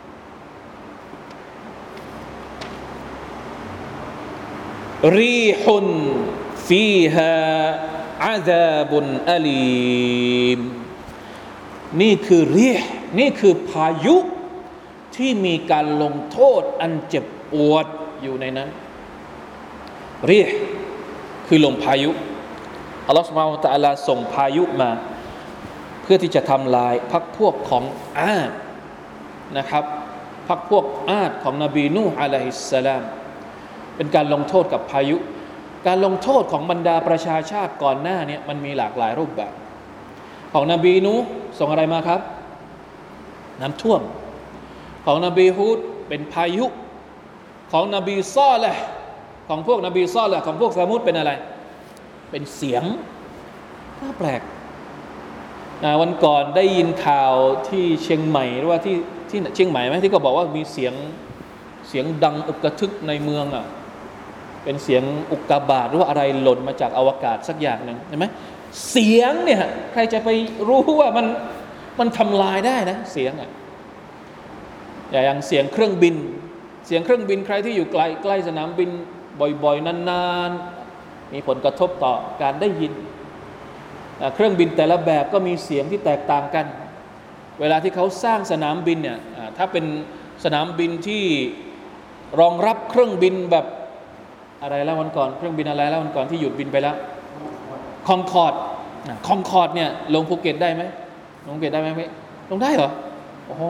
S1: รีฮุนฟีฮาอาซาบุนอะลีมนี่คือนี่คือพายุที่มีการลงโทษอันเจ็บปวดอยู่ในนั้นรีห์คือลมพายุอัลลอฮฺซุบฮานะฮูวะตะอาลาส่งพายุมาเพื่อที่จะทำลายพรรคพวกของอาดนะครับพรรคพวกอาดของนบีนูฮ์อะลัยฮิสสลามเป็นการลงโทษกับพายุการลงโทษของบรรดาประชาชาติก่อนหน้านี้มันมีหลากหลายรูปแบบของนบีนูฮ์ส่งอะไรมาครับน้ำท่วมของนบีฮูดเป็นพายุของนบีซอลิห์ของพวกนบีซอลิห์ของพวกซะมูดเป็นอะไรเป็นเสียงน่าแปลกวันก่อนได้ยินข่าวที่เชียงใหม่หรือว่าที่เชียงใหม่ไหมที่ก็บอกว่ามีเสียงดังอึกกระทึกในเมืองอ่ะเป็นเสียงอุกกาบาตหรือว่าอะไรหล่นมาจากอวกาศสักอย่างนึงใช่ไหมเสียงเนี่ยใครจะไปรู้ว่ามันทำลายได้นะเสียงอ่ะอย่างเสียงเครื่องบินใครที่อยู่ใกล้สนามบินบ่อยๆนานๆมีผลกระทบต่อการได้ยินเครื่องบินแต่ละแบบก็มีเสียงที่แตกต่างกันเวลาที่เขาสร้างสนามบินเนี่ยถ้าเป็นสนามบินที่รองรับเครื่องบินแบบอะไรแล้ววันก่อนเครื่องบินอะไรแล้ววันก่อนที่หยุดบินไปแล้วคอนคอร์ดเนี่ยลงภูเก็ตได้ไหมลงภูเก็ตได้ไหมลงได้เหรอโอ้โห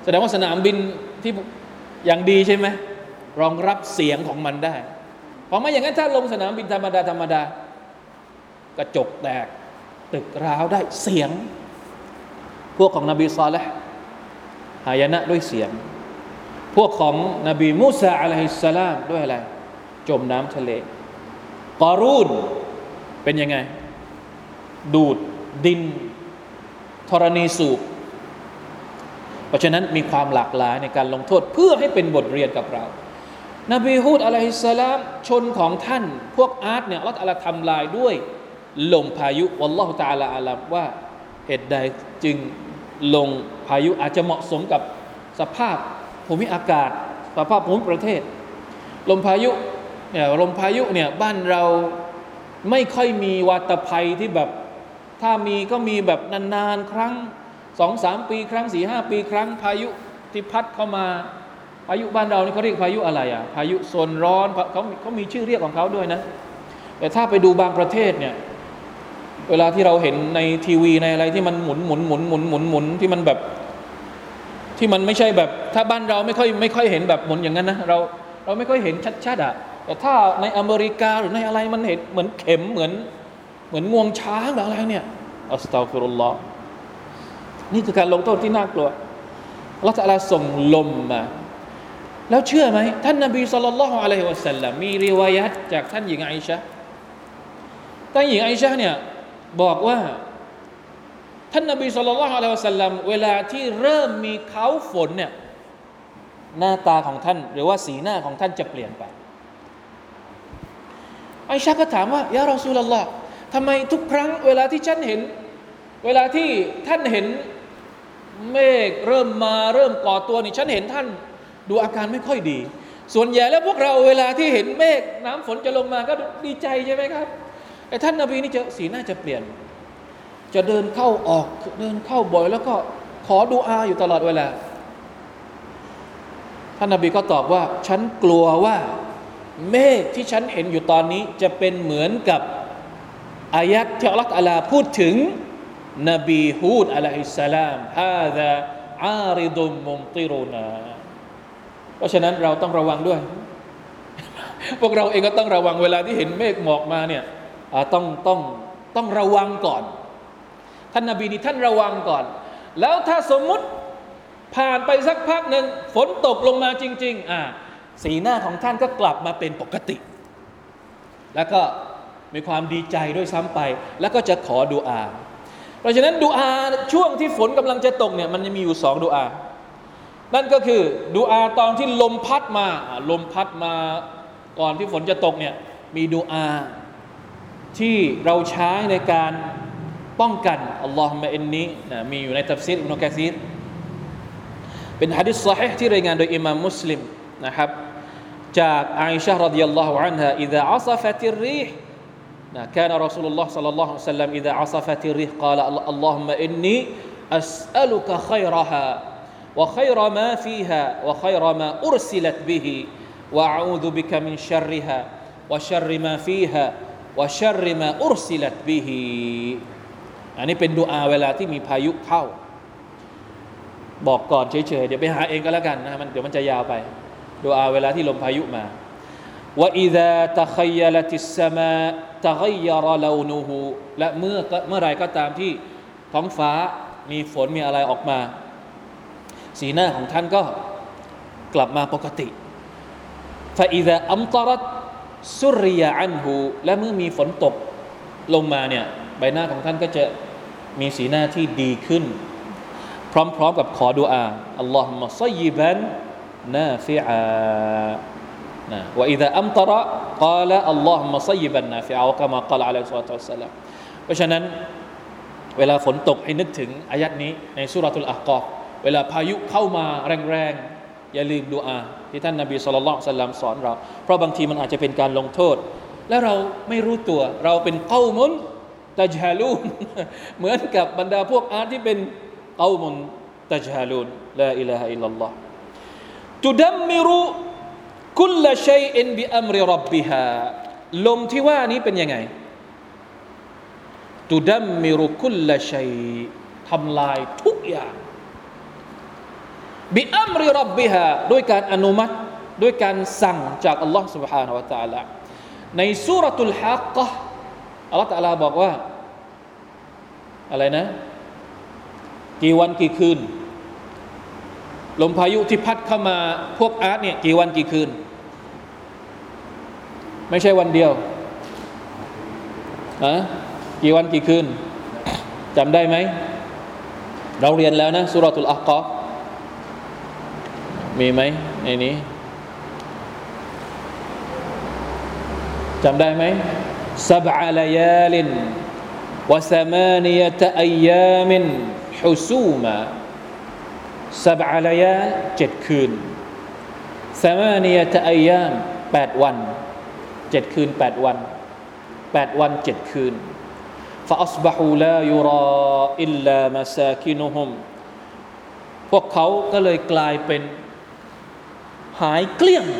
S1: แสดงว่าสนามบินที่อย่างดีใช่ไหมรองรับเสียงของมันได้เพราะไม่อย่างนั้นถ้าลงสนามบินธรรมดากระจกแตกตึกร้าวได้เสียงพวกของนบีซอลิห์หายนะด้วยเสียงพวกของนบีมูซาอะลัยฮิสสลามด้วยอะไรจมน้ำทะเลกอรูนเป็นยังไงดูดดินธรณีสูบเพราะฉะนั้นมีความหลากหลายในการลงโทษเพื่อให้เป็นบทเรียนกับเรานบีฮูดอะลัยฮิสสลามชนของท่านพวกอาร์ตเนี่ยอัลเลาะห์ตะอาลาทำลายด้วยลมพายุวัลลอฮุตะอาลาอาลัมว่าเหตุใดจึงลงพายุอาจจะเหมาะสมกับสภาพภูมิอากาศสภาพภูมิประเทศลมพายุเนี่ยบ้านเราไม่ค่อยมีวาตภัยที่แบบถ้ามีก็มีแบบนานๆครั้ง 2-3 ปีครั้ง 4-5 ปีครั้งพายุที่พัดเข้ามาพายุบ้านเรานี่เขาเรียกพายุอะไรอ่ะพายุโซนร้อนเขามีชื่อเรียกของเขาด้วยนะแต่ถ้าไปดูบางประเทศเนี่ยเวลาที่เราเห็นในทีวีในอะไรที่มันหมุนที่มันแบบที่มันไม่ใช่แบบถ้าบ้านเราไม่ค่อยเห็นแบบหมุนอย่างนั้นนะเราไม่ค่อยเห็นชัดๆอ่ะแต่ถ้าในอเมริกาหรือในอะไรมันเห็นเหมือนเข็มเหมือนงวงช้างหรืออะไรเนี่ยอัสตัฆฟิรุลลอฮ์นี่คือการลงโทษที่น่ากลัวอัลเลาะห์ตะอาลาส่งลมมาแล้วเชื่อไหมท่านนบีศ็อลลัลลอฮุอะลัยฮิวะซัลลัมมีริวายะห์จากท่านหญิงอิชะห์ท่านหญิงอิชะห์เนี่ยบอกว่าท่านนบีศ็อลลัลลอฮุอะลัยฮิวะซัลลัมเวลาที่เริ่มมีเขาฝนเนี่ยหน้าตาของท่านหรือว่าสีหน้าของท่านจะเปลี่ยนไปอิชะห์ก็ถามว่ายารอซูลุลลอฮ์ทำไมทุกครั้งเวลาที่ท่านเห็นเมฆเริ่มก่อตัวนี่ฉันเห็นท่านดูอาการไม่ค่อยดีส่วนใหญ่แล้วพวกเราเวลาที่เห็นเมฆน้ำฝนจะลงมาก็ดีใจใช่ไหมครับไอ้ท่านนบีนี่จะสีหน้าจะเปลี่ยนจะเดินเข้าออกเดินเข้าบ่อยแล้วก็ขอดุอาอยู่ตลอดเวลาท่านนบีก็ตอบว่าฉันกลัวว่าเมฆที่ฉันเห็นอยู่ตอนนี้จะเป็นเหมือนกับอายัดที่อัลเลาะห์ตะอาลาพูดถึงนบีฮูดอะลัยฮิสสลามฮาซาอาริดุมมุมติรุนาเพราะฉะนั้นเราต้องระวังด้วยพวกเราเองก็ต้องระวังเวลาที่เห็นเมฆหมอกมาเนี่ยต้องระวังก่อนท่านนบีนี่ท่านระวังก่อนแล้วถ้าสมมุติผ่านไปสักพักหนึ่งฝนตกลงมาจริงๆสีหน้าของท่านก็กลับมาเป็นปกติแล้วก็มีความดีใจด้วยซ้ำไปแล้วก็จะขอดุอาเพราะฉะนั้นดุอาช่วงที่ฝนกำลังจะตกเนี่ยมันจะมีอยู่2ดุอานั่นก็คือดุอาตอนที่ลมพัดมาก่อนที่ฝนจะตกเนี่ยมีดุอาที่เราใช้ในการป้องกันอัลลอฮุมะอินนีมีอยู่ในตัฟซีรอิบนุกะซีรเป็นหะดีษศอฮีห์ที่รายงานโดยอิหม่ามมุสลิมนะครับจากอาอิชะห์รอฎิยัลลอฮุอันฮาอิซาอัศฟัติรรีห์كان رسول الله صلى الله عليه وسلم إذا عصفت الريح قال اللهم إني أسألك خيرها وخير ما فيها وخير ما أرسلت به وأعوذ بك من شرها وشر ما فيها وشر ما أرسلت به อันนี้เป็นดุอาเวลาที่มีพายุเข้าบอกก่อนเฉยๆเดี๋ยวไปหาเองก็แล้วกันนะเดี๋ยวมันจะยาวไปดุอาเวลาที่ลมพายุมาوإذا تخيلت السماء تغير لونه และเมื่อไรก็ตามที่ท้องฟ้ามีฝนมีอะไรออกมาสีหน้าของท่านก็กลับมาปกติ فإذا أمطرت سري عنه และเมื่อมีฝนตกลงมาเนี่ยใบหน้าของท่านก็จะมีสีหน้าที่ดีขึ้นพร้อมๆกับขอดุอาอัลลอฮุมะซัยยิบันนาฟิอาوإذا أمطر قال اللهم صيبا نافعا كما قال عليه الصلاة والسلام เพราะฉะนั้นเวลาฝนตกให้นึกถึงอายัดนี้ในซูเราะตุลอะห์กอฟเวลาพายุเข้ามาแรงๆอย่าลืมดุอาที่ท่านนบีศ็อลลัลลอฮุอะลัยฮิวะซัลลัมสอนเราเพราะบางทีมันอาจจะเป็นการลงโทษและเราไม่รู้ตัวเราเป็นกอมุนตัจฮาลูนเหมือนกับบรรดาพวกอาร์ตที่เป็นกอมุนตัจฮาลูนลาอิลาฮะอิลลัลลอฮ์ตุดัมมิรุกุลละชัยอินบิอัมริร็อบบิฮาลมที่ว่านี้เป็นยังไงตุดัมมิรุกุลละชัยทำลายทุกอย่างบิอัมริร็อบบิฮาด้วยการอนุมัติด้วยการสั่งจากอัลลอฮ์ سبحانه และ تعالى ในซูเราะตุลฮักกะห์อัลลอฮ์ تعالى บอกว่าอะไรนะกี่วันกี่คืนลมพายุที่พัดเข้ามาพวกอาร์ตเนี่ยกี่วันกี่คืนไม่ใช่วันเดียวกี่วันกี่คืนจำได้ไหมเราเรียนแล้วนะซูเราะตุลอักกอฟมีไหมในนี้จำได้ไหม7 ليال و8 أيام حسوما 7 ليال 7 คืน8 أيام 8 วัน7 คืน 8 วัน8 วัน 7 คืน فأصبحوا لا يرى إلا مساكنهم พวกเขาก็เลยกลายเป็นหายเกลี้ยง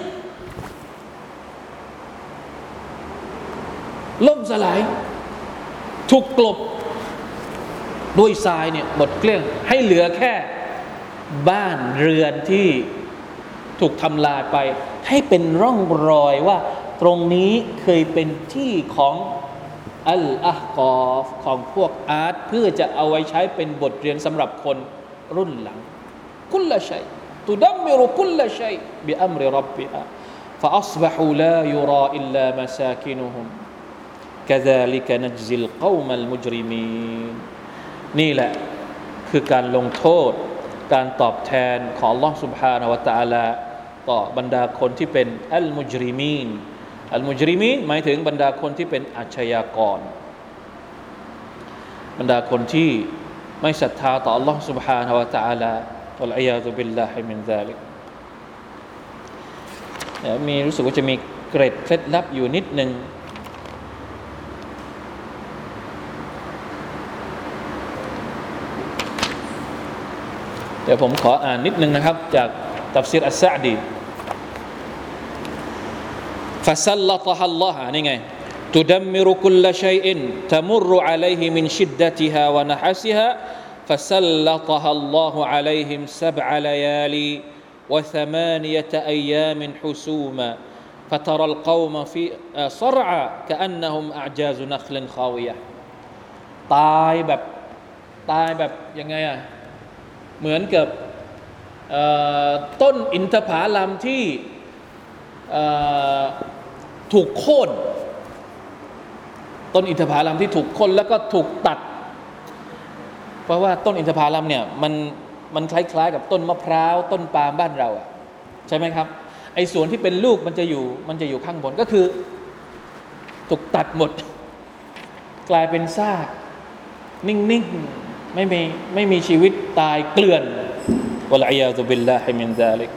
S1: ล่มสลายถูกกลบด้วยทรายเนี่ยหมดเกลี้ยงให้เหลือแค่บ้านเรือนที่ถูกทำลายไปให้เป็นร่องรอยว่าตรงนี้เคยเป็นที่ของอัลอะกอฟของพวกอาร์ตเพื่อจะเอาไว้ใช้เป็นบทเรียนสำหรับคนรุ่นหลังคุลละชัยตุดัมมิรุคุลละชัยบิอัมริร็อบบิฮาฟะอัศบะฮูลายุรออิลลามะซากินุฮุมกะซาลิกะนัจซิลกอมัลมุจริมีนนี่แหละคือการลงโทษการตอบแทนของ Allah سبحانه และ تعالى ต่อบรรดาคนที่เป็นอัลมุจริมีนอัลมุจริมีนหมายถึงบรรดาคนที่เป็นอาชญากรบรรดาคนที่ไม่ศรัทธาต่อ Allah سبحانه และ تعالى วัลอียาซุบิลลาฮิมินซาลิกมีรู้สึกว่าจะมีเกร็ดเคล็ดลับอยู่นิดนึงเดี๋ยวผมขออ่านนิดนึงนะครับจากตัฟซีรอัสซะอ์ดีفسلطها الله นี่ไง تدمر كل شيء تمر عليه من شدتها ونحسها فسلطها الله عليهم 7 ليالي و8 أيام حسوما فترى القوم في صرعى كأنهم أعجاز نخل خاوية ตายแบบยังไงอะเหมือนกับต้นอินทผลัมที่ถูกโค่นต้นอินทผลัมที่ถูกโค่นแล้วก็ถูกตัดเพราะว่าต้นอินทผลัมเนี่ยมันคล้ายๆกับต้นมะพร้าวต้นปาล์มบ้านเราอะใช่ไหมครับไอ้ส่วนที่เป็นลูกมันจะอยู่ข้างบนก็คือถูกตัดหมดกลายเป็นซากนิ่งๆไม่มีชีวิตตายเกลื่อนวะลอียาซุบิลลาฮิมินซาลิก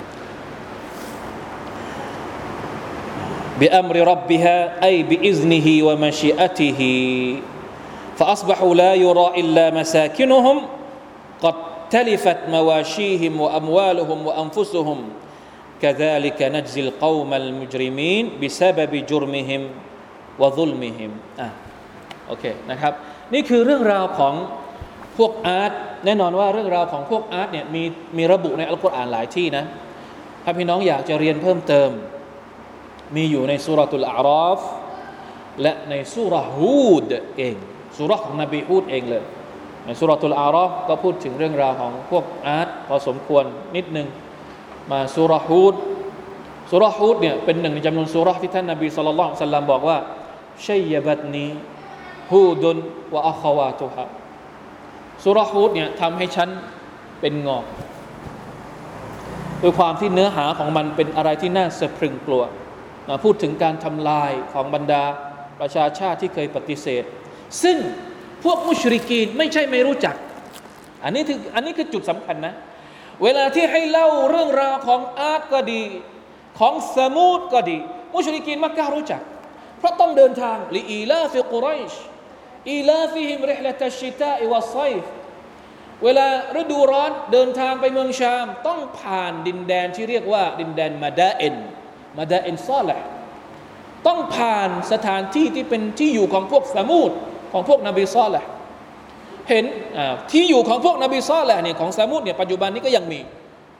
S1: บิอัมริร็อบบิฮาอัยบิอิซนิฮิวะมะชีอะติฮิفأصبحوا لا يرى إلا مساكنهم قد تلفت مواشيهم وأموالهم وأنفسهم كذلك نجزي القوم المجرمين بسبب جرمهم وظلمهم โอเคนะครับนี่คือเรื่องราวของพวกอาร์ตแน่นอนว่าเรื่องราวของพวกอาร์ตเนี่ยมีระบุในอัลกุรอานหลายที่นะถ้าพี่น้องอยากจะเรียนเพิ่มเติมมีอยู่ในซูเราะตุลอาราฟและในซูเราะห์ฮูดเองซูเราะห์ของนบีฮูดเองเลยในซูเราะตุลอาราฟก็พูดถึงเรื่องราวของพวกอาร์ตพอสมควรนิดนึงมาซูเราะห์ฮูดเนี่ยเป็นหนึ่งในจำนวนซูเราะห์ที่ท่านนบีศ็อลลัลลอฮุอะลัยฮิวะซัลลัมบอกว่าชัยบัตนีฮูดุนวะอะควาตุฮาซูเราะห์ฮูดเนี่ยทำให้ฉันเป็นงอกด้วยความที่เนื้อหาของมันเป็นอะไรที่น่าสะพรึงกลัวพูดถึงการทำลายของบรรดาประชาชาติที่เคยปฏิเสธซึ่งพวกมุชริกีนไม่ใช่ไม่รู้จักอันนี้คือจุดสำคัญนะเวลาที่ให้เล่าเรื่องราวของอาดก็ดีของซะมูดก็ดีมุชริกีนมักกะฮ์รู้จักเพราะต้องเดินทางลิอีลาฟิกุรอยชอีลาฟิฮิมริฮละตัชชิตาอิวัศซัยฟเวลาฤดูร้อนเดินทางไปเมืองชามต้องผ่านดินแดนที่เรียกว่าดินแดนมาดาอินซอลิห์ต้องผ่านสถานที่ที่เป็นที่อยู่ของพวกซะมูดของพวกนบีซอลิห์เห็นที่อยู่ของพวกนบีซอลิห์เนี่ยของซะมูดเนี่ยปัจจุบันนี้ก็ยังมี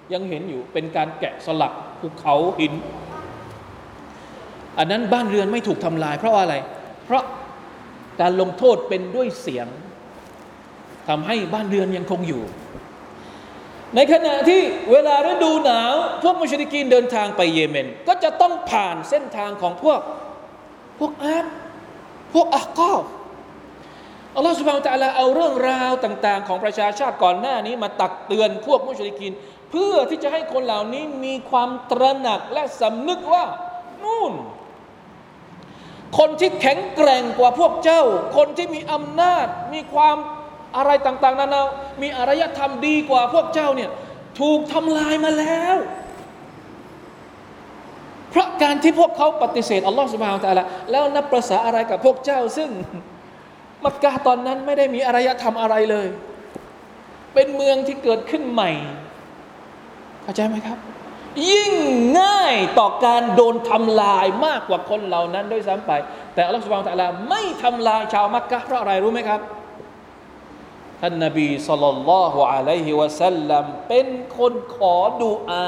S1: ยังเห็นอยู่เป็นการแกะสลักภูเขาหินอันนั้นบ้านเรือนไม่ถูกทำลายเพราะอะไรเพราะการลงโทษเป็นด้วยเสียงทำให้บ้านเรือนยังคงอยู่ในขณะที่เวลาฤดูหนาวพวกมุชริกีนเดินทางไปเยเมนก็จะต้องผ่านเส้นทางของพวกอาดพวกอะกอฟอัลลอฮฺซุบฮานะฮูวะตะอาลาเอาเรื่องราวต่างๆของประชาชาติก่อนหน้านี้มาตักเตือนพวกมุชริกีนเพื่อที่จะให้คนเหล่านี้มีความตระหนักและสำนึกว่านู่นคนที่แข็งแกร่งกว่าพวกเจ้าคนที่มีอำนาจมีความอะไรต่างๆนานามีอารยธรรมดีกว่าพวกเจ้าเนี่ยถูกทำลายมาแล้วเพราะการที่พวกเขาปฏิเสธอัลลอฮฺซุบฮานะฮูวะตะอาลาแล้วนับประสาอะไรกับพวกเจ้าซึ่งมักกะฮ์ตอนนั้นไม่ได้มีอารยธรรมอะไรเลยเป็นเมืองที่เกิดขึ้นใหม่เข้าใจไหมครับยิ่งง่ายต่อการโดนทำลายมากกว่าคนเหล่านั้นด้วยซ้ำไปแต่อัลลอฮฺซุบฮานะฮูวะตะอาลาไม่ทำลายชาวมักกะฮ์เพราะอะไรรู้ไหมครับท่านนบีศ็อลลัลลอฮุอะลัยฮิวะซัลลัมเป็นคนขอดุอา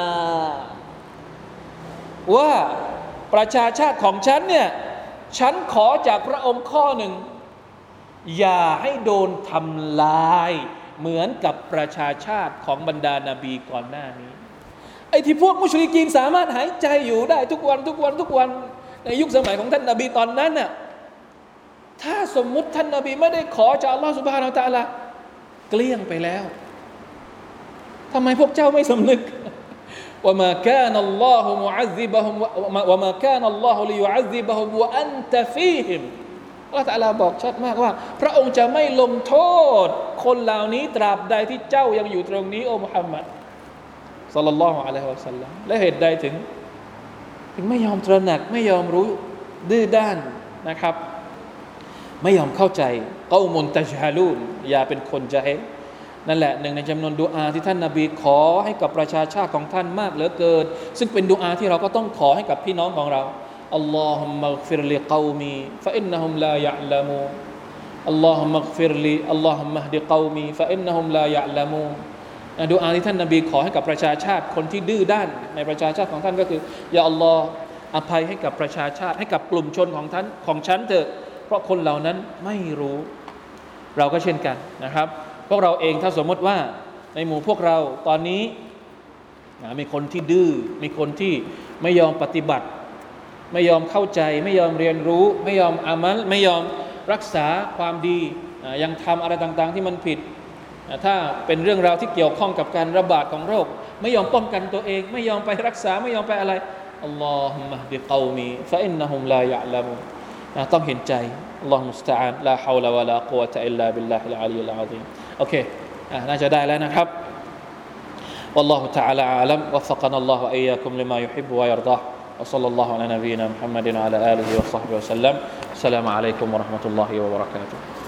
S1: ว่าประชาชาติของฉันเนี่ยฉันขอจากพระองค์ข้อหนึ่งอย่าให้โดนทำลายเหมือนกับประชาชาติของบรรดานาบีก่อนหน้านี้ไอ้ที่พวกมุชริกีนสามารถหายใจอยู่ได้ทุกวันในยุคสมัยของท่านนบีตอนนั้นน่ะถ้าสมมุติท่านนบีไม่ได้ขอจากอัลลอฮฺซุบฮานะฮูวะตะอาลาเกลี้ยงไปแล้วทำไมพวกเจ้าไม่สำนึกว่ามากานัลลอฮุมุอัซซิบะฮุมว่ามากานัลลอฮุลิยุอัซซิบะฮุมวะอันตะฟีฮิมอัลเลาะห์ตะอาลาบอกชัดมากว่าพระองค์จะไม่ลงโทษคนเหล่านี้ตราบใดที่เจ้ายังอยู่ตรงนี้โอ้มุฮัมมัดศ็อลลัลลอฮุอะลัยฮิวะซัลลัมและเหตุใดถึงไม่ยอมตระหนักไม่ยอมรู้ดื้อด้านนะครับไม่ยอมเข้าใจกอมุนตัจฮะลูนอย่าเป็นคนญะฮิลนั่นแหละหนึ่งในจำนวนดุอาที่ท่านนบีขอให้กับประชาชาติของท่านมากเหลือเกินซึ่งเป็นดุอาที่เราก็ต้องขอให้กับพี่น้องของเราอัลลอฮุมมัฆฟิรลิกอมีฟะอินนะฮุมลายะอ์ละมูนอัลลอฮุมมัฆฟิรลิอัลลอฮุมมะฮดิกอมีฟะอินนะฮุมลายะอ์ละมูนดุอาที่ท่านนบีขอให้กับประชาชาติคนที่ดื้อด้านในประชาชาติของท่านก็คือยาอัลลอฮ์อภัยให้กับประชาชาติให้กับกลุ่มชนของท่านของฉันเถอะเพราะคนเหล่านั้นไม่รู้เราก็เช่นกันนะครับพวกเราเองถ้าสมมติว่าในหมู่พวกเราตอนนี้มีคนที่ดื้อมีคนที่ไม่ยอมปฏิบัติไม่ยอมเข้าใจไม่ยอมเรียนรู้ไม่ยอมอามัลไม่ยอมรักษาความดียังทำอะไรต่างๆที่มันผิดถ้าเป็นเรื่องราวที่เกี่ยวข้องกับการระบาดของโรคไม่ยอมป้องกันตัวเองไม่ยอมไปรักษาไม่ยอมไปอะไรอัลลอฮุมมะฮดิกอมีฟะอินนะฮุมลายะอ์ละมูนต้องเห็นใจอัลลอฮุมุสตะอาลลาฮาวละวะลากุวะตะอิลลาบิลลาฮิลอะลียิลอะซีมโอเคน่าจะได้แล้วนะครับ والله تعالى أعلم وفقنا الله وإياكم لما يحب ويرضاه وصلى الله على نبينا محمد وعلى آله وصحبه وسلم السلام عليكم ورحمة الله وبركاته